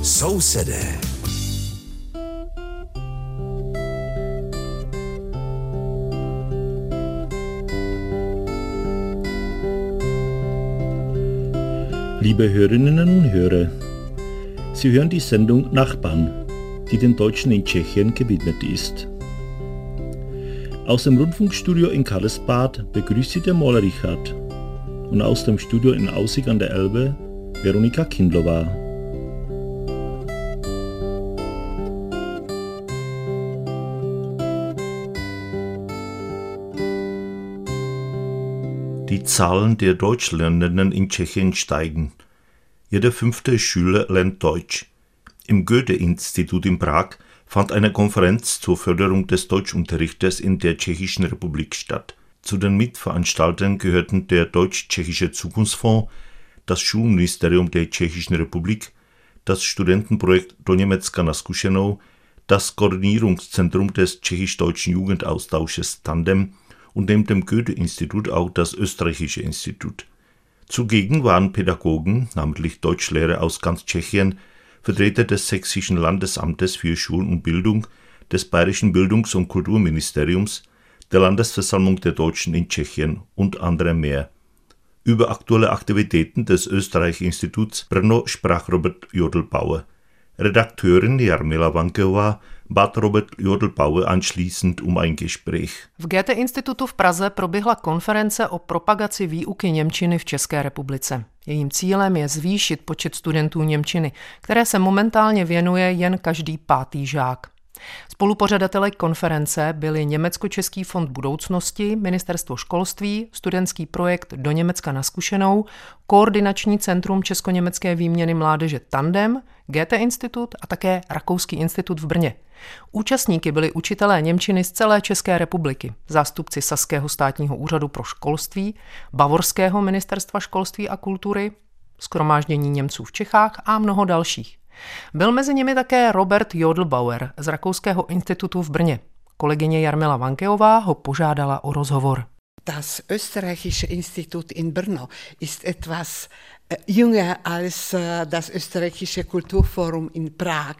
Sousedé. Liebe Hörerinnen und Hörer, Sie hören die Sendung Nachbarn, die den Deutschen in Tschechien gewidmet ist. Aus dem Rundfunkstudio in Karlsbad begrüßt Sie der Maler Richard und aus dem Studio in Aussig an der Elbe Veronika Kindlova. Die Zahlen der Deutschlernenden in Tschechien steigen. Jeder 5. Schüler lernt Deutsch. Im Goethe-Institut in Prag fand eine Konferenz zur Förderung des Deutschunterrichtes in der Tschechischen Republik statt. Zu den Mitveranstaltern gehörten der Deutsch-Tschechische Zukunftsfonds, das Schulministerium der Tschechischen Republik, das Studentenprojekt Do Německa na zkušenou, das Koordinierungszentrum des tschechisch-deutschen Jugendaustausches Tandem und neben dem Goethe-Institut auch das Österreichische Institut. Zugegen waren Pädagogen, namentlich Deutschlehrer aus ganz Tschechien, Vertreter des Sächsischen Landesamtes für Schulen und Bildung, des Bayerischen Bildungs- und Kulturministeriums, der Landesversammlung der Deutschen in Tschechien und andere mehr. Über aktuelle Aktivitäten des Österreich-Instituts Brno sprach Robert Jodelbauer. Redakteurin Jarmila Vankeová bat Robert Jodelbauer anschließend um ein Gespräch. V Goethe-Institutu v Praze proběhla konference o propagaci výuky němčiny v České republice. Jejím cílem je zvýšit počet studentů němčiny, které se momentálně věnuje jen každý 5. žák. Spolupořadateli konference byli Německo-Český fond budoucnosti, Ministerstvo školství, studentský projekt Do Německa na zkušenou, Koordinační centrum česko-německé výměny mládeže Tandem, Goethe-Institut a také Rakouský institut v Brně. Účastníky byli učitelé němčiny z celé České republiky, zástupci Saského státního úřadu pro školství, Bavorského ministerstva školství a kultury, shromáždění Němců v Čechách a mnoho dalších. Byl mezi nimi také Robert Jodelbauer z Rakouského institutu v Brně. Kolegyně Jarmila Vankeová ho požádala o rozhovor. Das Österreichische Institut in Brno ist etwas jünger als das Österreichische Kulturforum in Prag.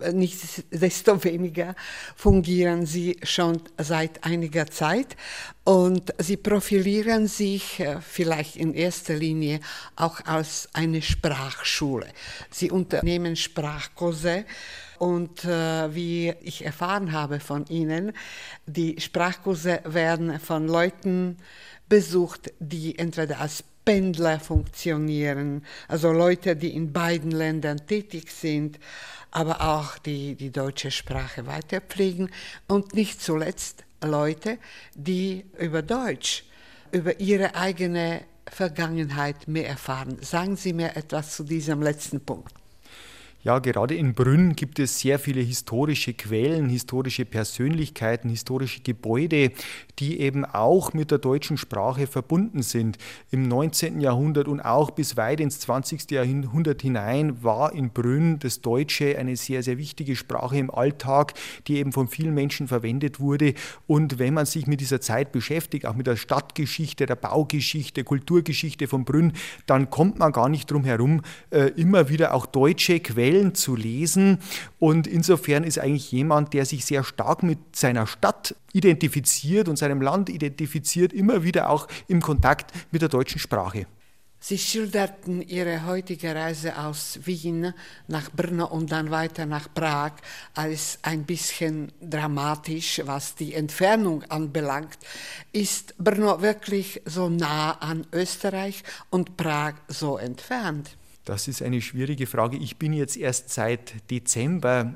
Nichtsdestoweniger fungieren sie schon seit einiger Zeit und sie profilieren sich vielleicht in erster Linie auch als eine Sprachschule. Sie unternehmen Sprachkurse. Und wie ich erfahren habe von Ihnen, die Sprachkurse werden von Leuten besucht, die entweder als Pendler funktionieren, also Leute, die in beiden Ländern tätig sind, aber auch die deutsche Sprache weiterpflegen und nicht zuletzt Leute, die über Deutsch, über ihre eigene Vergangenheit mehr erfahren. Sagen Sie mir etwas zu diesem letzten Punkt. Ja, gerade in Brünn gibt es sehr viele historische Quellen, historische Persönlichkeiten, historische Gebäude, die eben auch mit der deutschen Sprache verbunden sind. Im 19. Jahrhundert und auch bis weit ins 20. Jahrhundert hinein war in Brünn das Deutsche eine sehr, sehr wichtige Sprache im Alltag, die eben von vielen Menschen verwendet wurde. Und wenn man sich mit dieser Zeit beschäftigt, auch mit der Stadtgeschichte, der Baugeschichte, Kulturgeschichte von Brünn, dann kommt man gar nicht drum herum, immer wieder auch deutsche Quellen zu lesen, und insofern ist eigentlich jemand, der sich sehr stark mit seiner Stadt identifiziert und seinem Land identifiziert, immer wieder auch im Kontakt mit der deutschen Sprache. Sie schilderten Ihre heutige Reise aus Wien nach Brno und dann weiter nach Prag als ein bisschen dramatisch, was die Entfernung anbelangt. Ist Brno wirklich so nah an Österreich und Prag so entfernt? Das ist eine schwierige Frage. Ich bin jetzt erst seit Dezember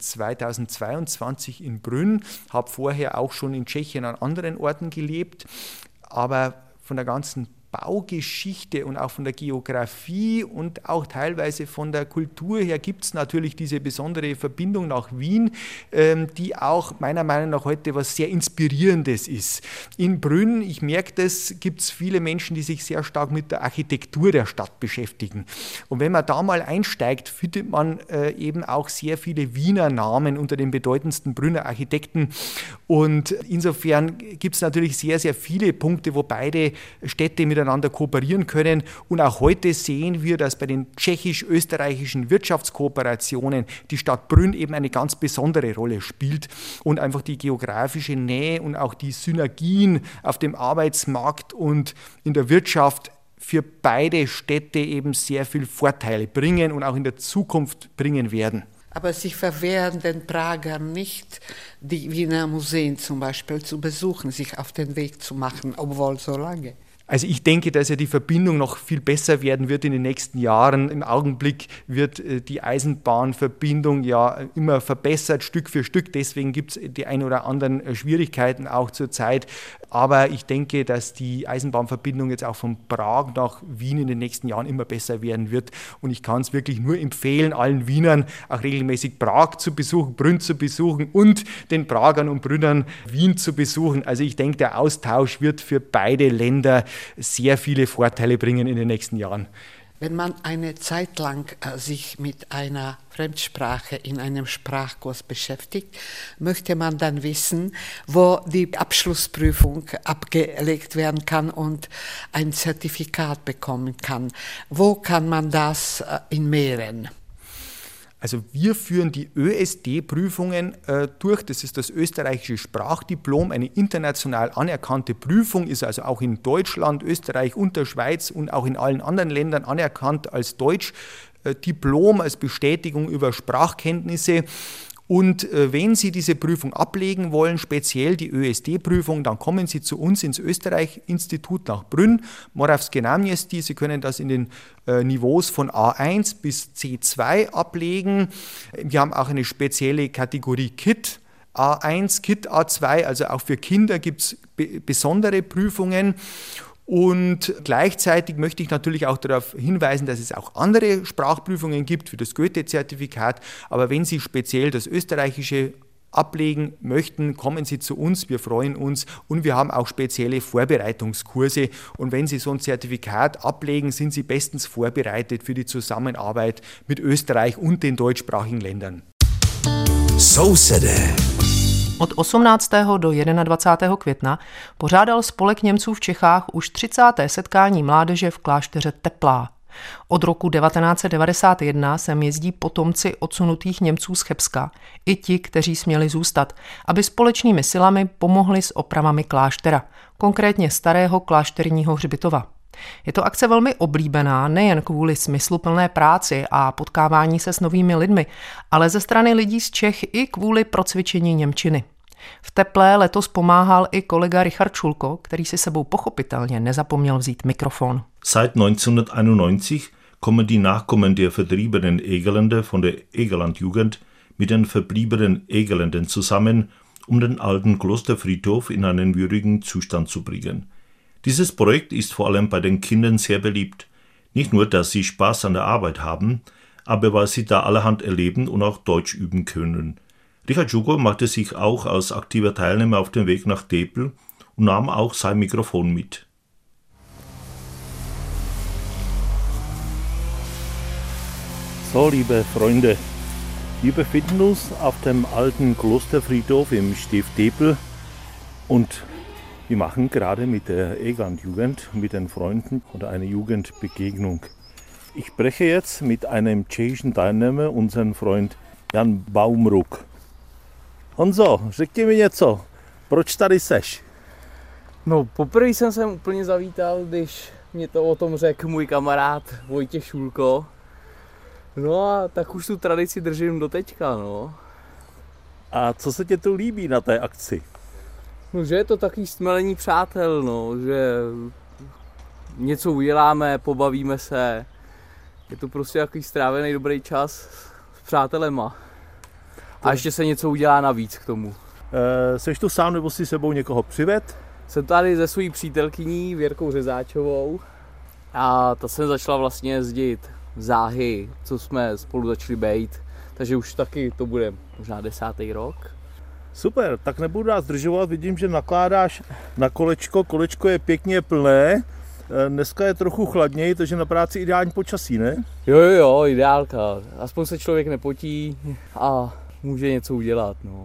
2022 in Brünn, habe vorher auch schon in Tschechien an anderen Orten gelebt, aber von der ganzen Baugeschichte und auch von der Geografie und auch teilweise von der Kultur her gibt es natürlich diese besondere Verbindung nach Wien, die auch meiner Meinung nach heute was sehr Inspirierendes ist. In Brünn, ich merke das, gibt es viele Menschen, die sich sehr stark mit der Architektur der Stadt beschäftigen. Und wenn man da mal einsteigt, findet man eben auch sehr viele Wiener Namen unter den bedeutendsten Brünner Architekten. Und insofern gibt es natürlich sehr, sehr viele Punkte, wo beide Städte mit miteinander kooperieren können. Und auch heute sehen wir, dass bei den tschechisch-österreichischen Wirtschaftskooperationen die Stadt Brünn eben eine ganz besondere Rolle spielt und einfach die geografische Nähe und auch die Synergien auf dem Arbeitsmarkt und in der Wirtschaft für beide Städte eben sehr viel Vorteile bringen und auch in der Zukunft bringen werden. Aber sie verwehren den Pragern nicht, die Wiener Museen zum Beispiel zu besuchen, sich auf den Weg zu machen, obwohl so lange. Also ich denke, dass ja die Verbindung noch viel besser werden wird in den nächsten Jahren. Im Augenblick wird die Eisenbahnverbindung ja immer verbessert, Stück für Stück. Deswegen gibt es die ein oder anderen Schwierigkeiten auch zurzeit. Aber ich denke, dass die Eisenbahnverbindung jetzt auch von Prag nach Wien in den nächsten Jahren immer besser werden wird. Und ich kann es wirklich nur empfehlen, allen Wienern auch regelmäßig Prag zu besuchen, Brünn zu besuchen und den Pragern und Brünnern Wien zu besuchen. Also ich denke, der Austausch wird für beide Länder sehr viele Vorteile bringen in den nächsten Jahren. Wenn man eine Zeit lang sich mit einer Fremdsprache in einem Sprachkurs beschäftigt, möchte man dann wissen, wo die Abschlussprüfung abgelegt werden kann und ein Zertifikat bekommen kann. Wo kann man das in Mähren? Also wir führen die ÖSD-Prüfungen durch, das ist das österreichische Sprachdiplom, eine international anerkannte Prüfung, ist also auch in Deutschland, Österreich und der Schweiz und auch in allen anderen Ländern anerkannt als Deutschdiplom, als Bestätigung über Sprachkenntnisse. Und wenn Sie diese Prüfung ablegen wollen, speziell die ÖSD-Prüfung, dann kommen Sie zu uns ins Österreich-Institut nach Brünn, Moravské náměstí. Sie können das in den Niveaus von A1 bis C2 ablegen. Wir haben auch eine spezielle Kategorie KIT A1, KIT A2, also auch für Kinder gibt es besondere Prüfungen. Und gleichzeitig möchte ich natürlich auch darauf hinweisen, dass es auch andere Sprachprüfungen gibt, wie das Goethe-Zertifikat. Aber wenn Sie speziell das Österreichische ablegen möchten, kommen Sie zu uns, wir freuen uns. Und wir haben auch spezielle Vorbereitungskurse. Und wenn Sie so ein Zertifikat ablegen, sind Sie bestens vorbereitet für die Zusammenarbeit mit Österreich und den deutschsprachigen Ländern. Sousede. Od 18. do 21. května pořádal Spolek Němců v Čechách už 30. setkání mládeže v klášteře Teplá. Od roku 1991 sem jezdí potomci odsunutých Němců z Chebska, i ti, kteří směli zůstat, aby společnými silami pomohli s opravami kláštera, konkrétně starého klášterního hřbitova. Je to akce velmi oblíbená nejen kvůli smysluplné práci a potkávání se s novými lidmi, ale ze strany lidí z Čech i kvůli procvičení němčiny. V Teplé letos pomáhal i kolega Richard Schulko, který si sebou pochopitelně nezapomněl vzít mikrofon. Seit 1991 kommen die Nachkommen der vertriebenen Egerländer von der Egerlandjugend mit den verbliebenen Egerländern zusammen, um den alten Klosterfriedhof in einen würdigen Zustand zu bringen. Dieses Projekt ist vor allem bei den Kindern sehr beliebt. Nicht nur, dass sie Spaß an der Arbeit haben, aber weil sie da allerhand erleben und auch Deutsch üben können. Richard Schulko machte sich auch als aktiver Teilnehmer auf den Weg nach Tepl und nahm auch sein Mikrofon mit. So, liebe Freunde, wir befinden uns auf dem alten Klosterfriedhof im Stift Tepl und wir machen gerade mit der Egerlandjugend, mit den Freunden oder eine Jugendbegegnung. Ich spreche jetzt mit einem tschechischen Teilnehmer, unseren Freund Jan Baumruck. Honzo, řekni mi něco, proč tady seš? No, poprvé jsem sem úplně zavítal, když mě to o tom řekl můj kamarád Vojtěch Šulko. No a tak už tu tradici držím do teďka, no. A co se tě tu líbí na té akci? No, že je to takový stmelení přátel, no, že něco uděláme, pobavíme se. Je to prostě takový strávený dobrý čas s přátelema. A ještě se něco udělá navíc k tomu. Seš tu sám nebo si sebou někoho přived? Jsem tady se svojí přítelkyní Věrkou Řezáčovou a ta jsem začala vlastně jezdit záhy, co jsme spolu začali bejt. Takže už taky to bude možná 10. rok. Super, tak nebudu nás zdržovat, vidím, že nakládáš na kolečko, kolečko je pěkně plné, dneska je trochu chladněji, takže na práci ideální počasí, ne? Jo, ideálka, aspoň se člověk nepotí a může něco udělat, no.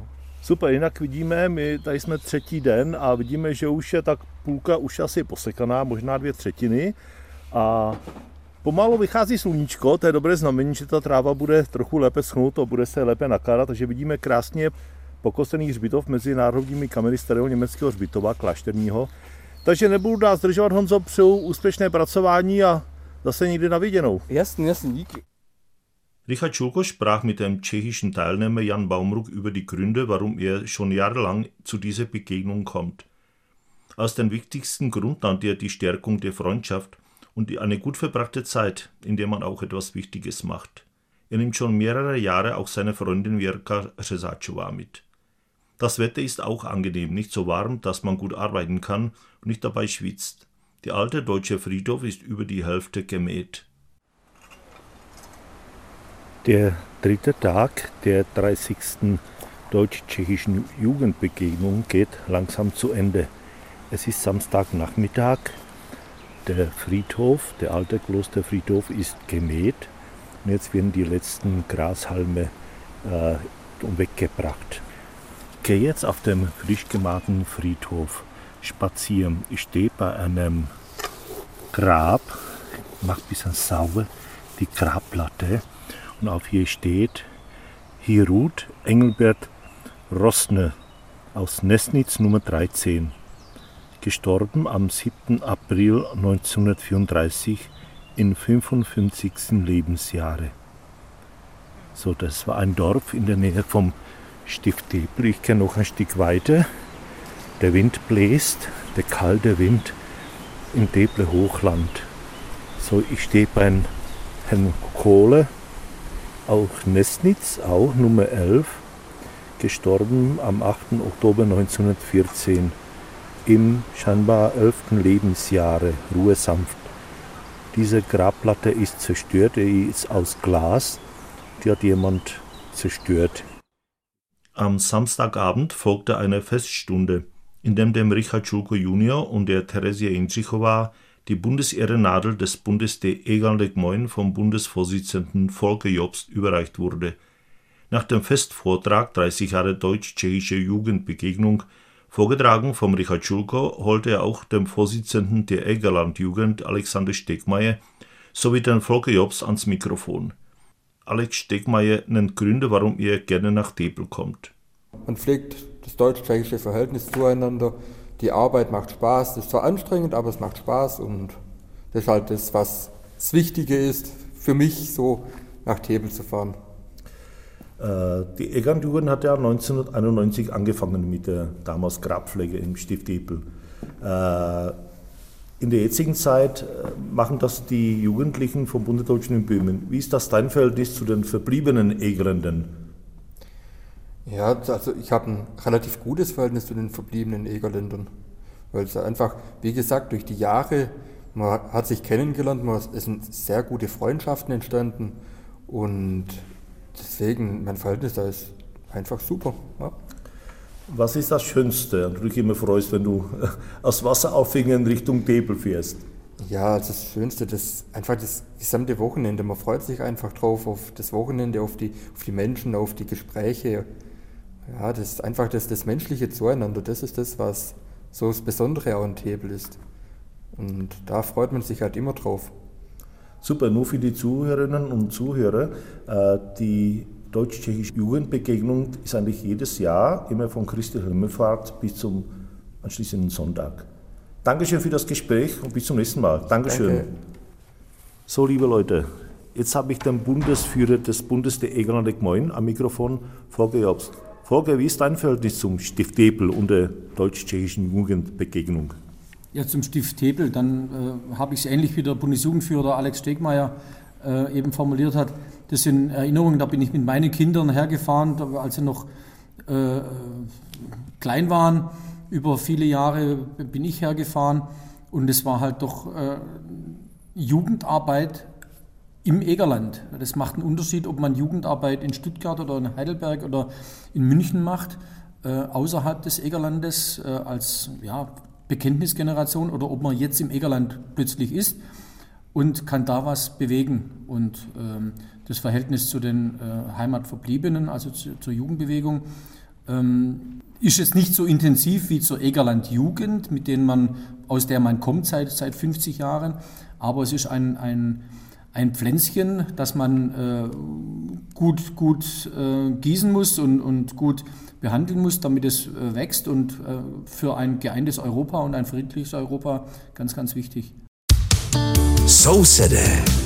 Super, jinak vidíme, my tady jsme třetí den a vidíme, že už je tak půlka už asi posekaná, možná 2/3. A pomalu vychází sluníčko, to je dobré znamení, že ta tráva bude trochu lépe schnout a bude se lépe nakládat, takže vidíme krásně pokosený hřbitov mezi národními kameny starého německého hřbitova, klášterního. Takže nebudu dál zdržovat, Honzo, přeju úspěšné pracování a zase někdy na viděnou. Jasně, díky. Richard Schulko sprach mit dem tschechischen Teilnehmer Jan Baumruck über die Gründe, warum er schon jahrelang zu dieser Begegnung kommt. Als den wichtigsten Grund nannte er die Stärkung der Freundschaft und eine gut verbrachte Zeit, in der man auch etwas Wichtiges macht. Er nimmt schon mehrere Jahre auch seine Freundin Věrka Řezáčová mit. Das Wetter ist auch angenehm, nicht so warm, dass man gut arbeiten kann und nicht dabei schwitzt. Der alte deutsche Friedhof ist über die Hälfte gemäht. Der dritte Tag der 30. deutsch-tschechischen Jugendbegegnung geht langsam zu Ende. Es ist Samstagnachmittag. Der Friedhof, der alte Klosterfriedhof, ist gemäht. Und jetzt werden die letzten Grashalme weggebracht. Ich gehe jetzt auf dem frisch gemähten Friedhof spazieren. Ich stehe bei einem Grab, mache ein bisschen sauber die Grabplatte. Und auf hier steht, hier ruht Engelbert Roßner aus Nesnitz Nummer 13, gestorben am 7. April 1934 in 55. Lebensjahre. So, das war ein Dorf in der Nähe vom Stift Debel. Ich gehe noch ein Stück weiter. Der Wind bläst, der kalte Wind im Debler Hochland. So, ich stehe bei Herrn Kohle, auch Nesnitz, auch Nummer 11, gestorben am 8. Oktober 1914 im scheinbar 11. Lebensjahre, Ruhe sanft. Diese Grabplatte ist zerstört, die ist aus Glas, die hat jemand zerstört. Am Samstagabend folgte eine Feststunde, in der dem Richard Schulko Junior und der Teresia Jindřichová die Bundesehrennadel des Bundes der Egernde Gmoin vom Bundesvorsitzenden Volker Jobst überreicht wurde. Nach dem Festvortrag 30 Jahre deutsch-tschechische Jugendbegegnung, vorgetragen vom Richard Schulko, holte er auch dem Vorsitzenden der Egerland-Jugend Alexander Stegmaier sowie den Volker Jobst ans Mikrofon. Alex Stegmaier nennt Gründe, warum er gerne nach Debel kommt. Man pflegt das deutsch-tschechische Verhältnis zueinander. Die Arbeit macht Spaß, das ist zwar anstrengend, aber es macht Spaß und das ist halt das, was das Wichtige ist, für mich so nach Debel zu fahren. Die Egernjugend hat ja 1991 angefangen mit der damals Grabpflege im Stift Debel. In der jetzigen Zeit machen das die Jugendlichen vom Bundesdeutschen in Böhmen. Wie ist das dein Verhältnis zu den verbliebenen Egerländern? Ja, also ich habe ein relativ gutes Verhältnis zu den verbliebenen Egerländern, weil es einfach, wie gesagt, durch die Jahre, man hat sich kennengelernt, es sind sehr gute Freundschaften entstanden und deswegen, mein Verhältnis da ist einfach super. Ja. Was ist das Schönste, an du dich immer freust, wenn du aus Wasseraufhängen Richtung Debel fährst? Ja, also das Schönste, einfach das gesamte Wochenende. Man freut sich einfach drauf, auf das Wochenende, auf die Menschen, auf die Gespräche. Ja, das ist einfach das menschliche Zueinander. Das ist das, was so das Besondere auch an Debel ist. Und da freut man sich halt immer drauf. Super, nur für die Zuhörerinnen und Zuhörer. Die deutsch-tschechische Jugendbegegnung ist eigentlich jedes Jahr immer von Christi Himmelfahrt bis zum anschließenden Sonntag. Dankeschön für das Gespräch und bis zum nächsten Mal. Dankeschön. Danke. So, liebe Leute, jetzt habe ich den Bundesführer des Bundes der Egerländer Gmoin am Mikrofon, Volker Jobst. Volker, wie ist dein Verhältnis zum Stift Debel und der deutsch-tschechischen Jugendbegegnung? Ja, zum Stift Debel, dann habe ich es ähnlich wie der Bundesjugendführer Alex Stegmaier eben formuliert hat. Das sind Erinnerungen, da bin ich mit meinen Kindern hergefahren, als sie noch klein waren. Über viele Jahre bin ich hergefahren und es war halt doch Jugendarbeit im Egerland. Das macht einen Unterschied, ob man Jugendarbeit in Stuttgart oder in Heidelberg oder in München macht, außerhalb des Egerlandes als Bekenntnisgeneration oder ob man jetzt im Egerland plötzlich ist und kann da was bewegen. Und das Verhältnis zu den Heimatverbliebenen, also zur Jugendbewegung, Ist jetzt nicht so intensiv wie zur Egerland-Jugend, aus der man kommt seit 50 Jahren, aber es ist ein Pflänzchen, das man gut gießen muss und gut behandeln muss, damit es wächst und für ein geeintes Europa und ein friedliches Europa ganz, ganz wichtig. So City.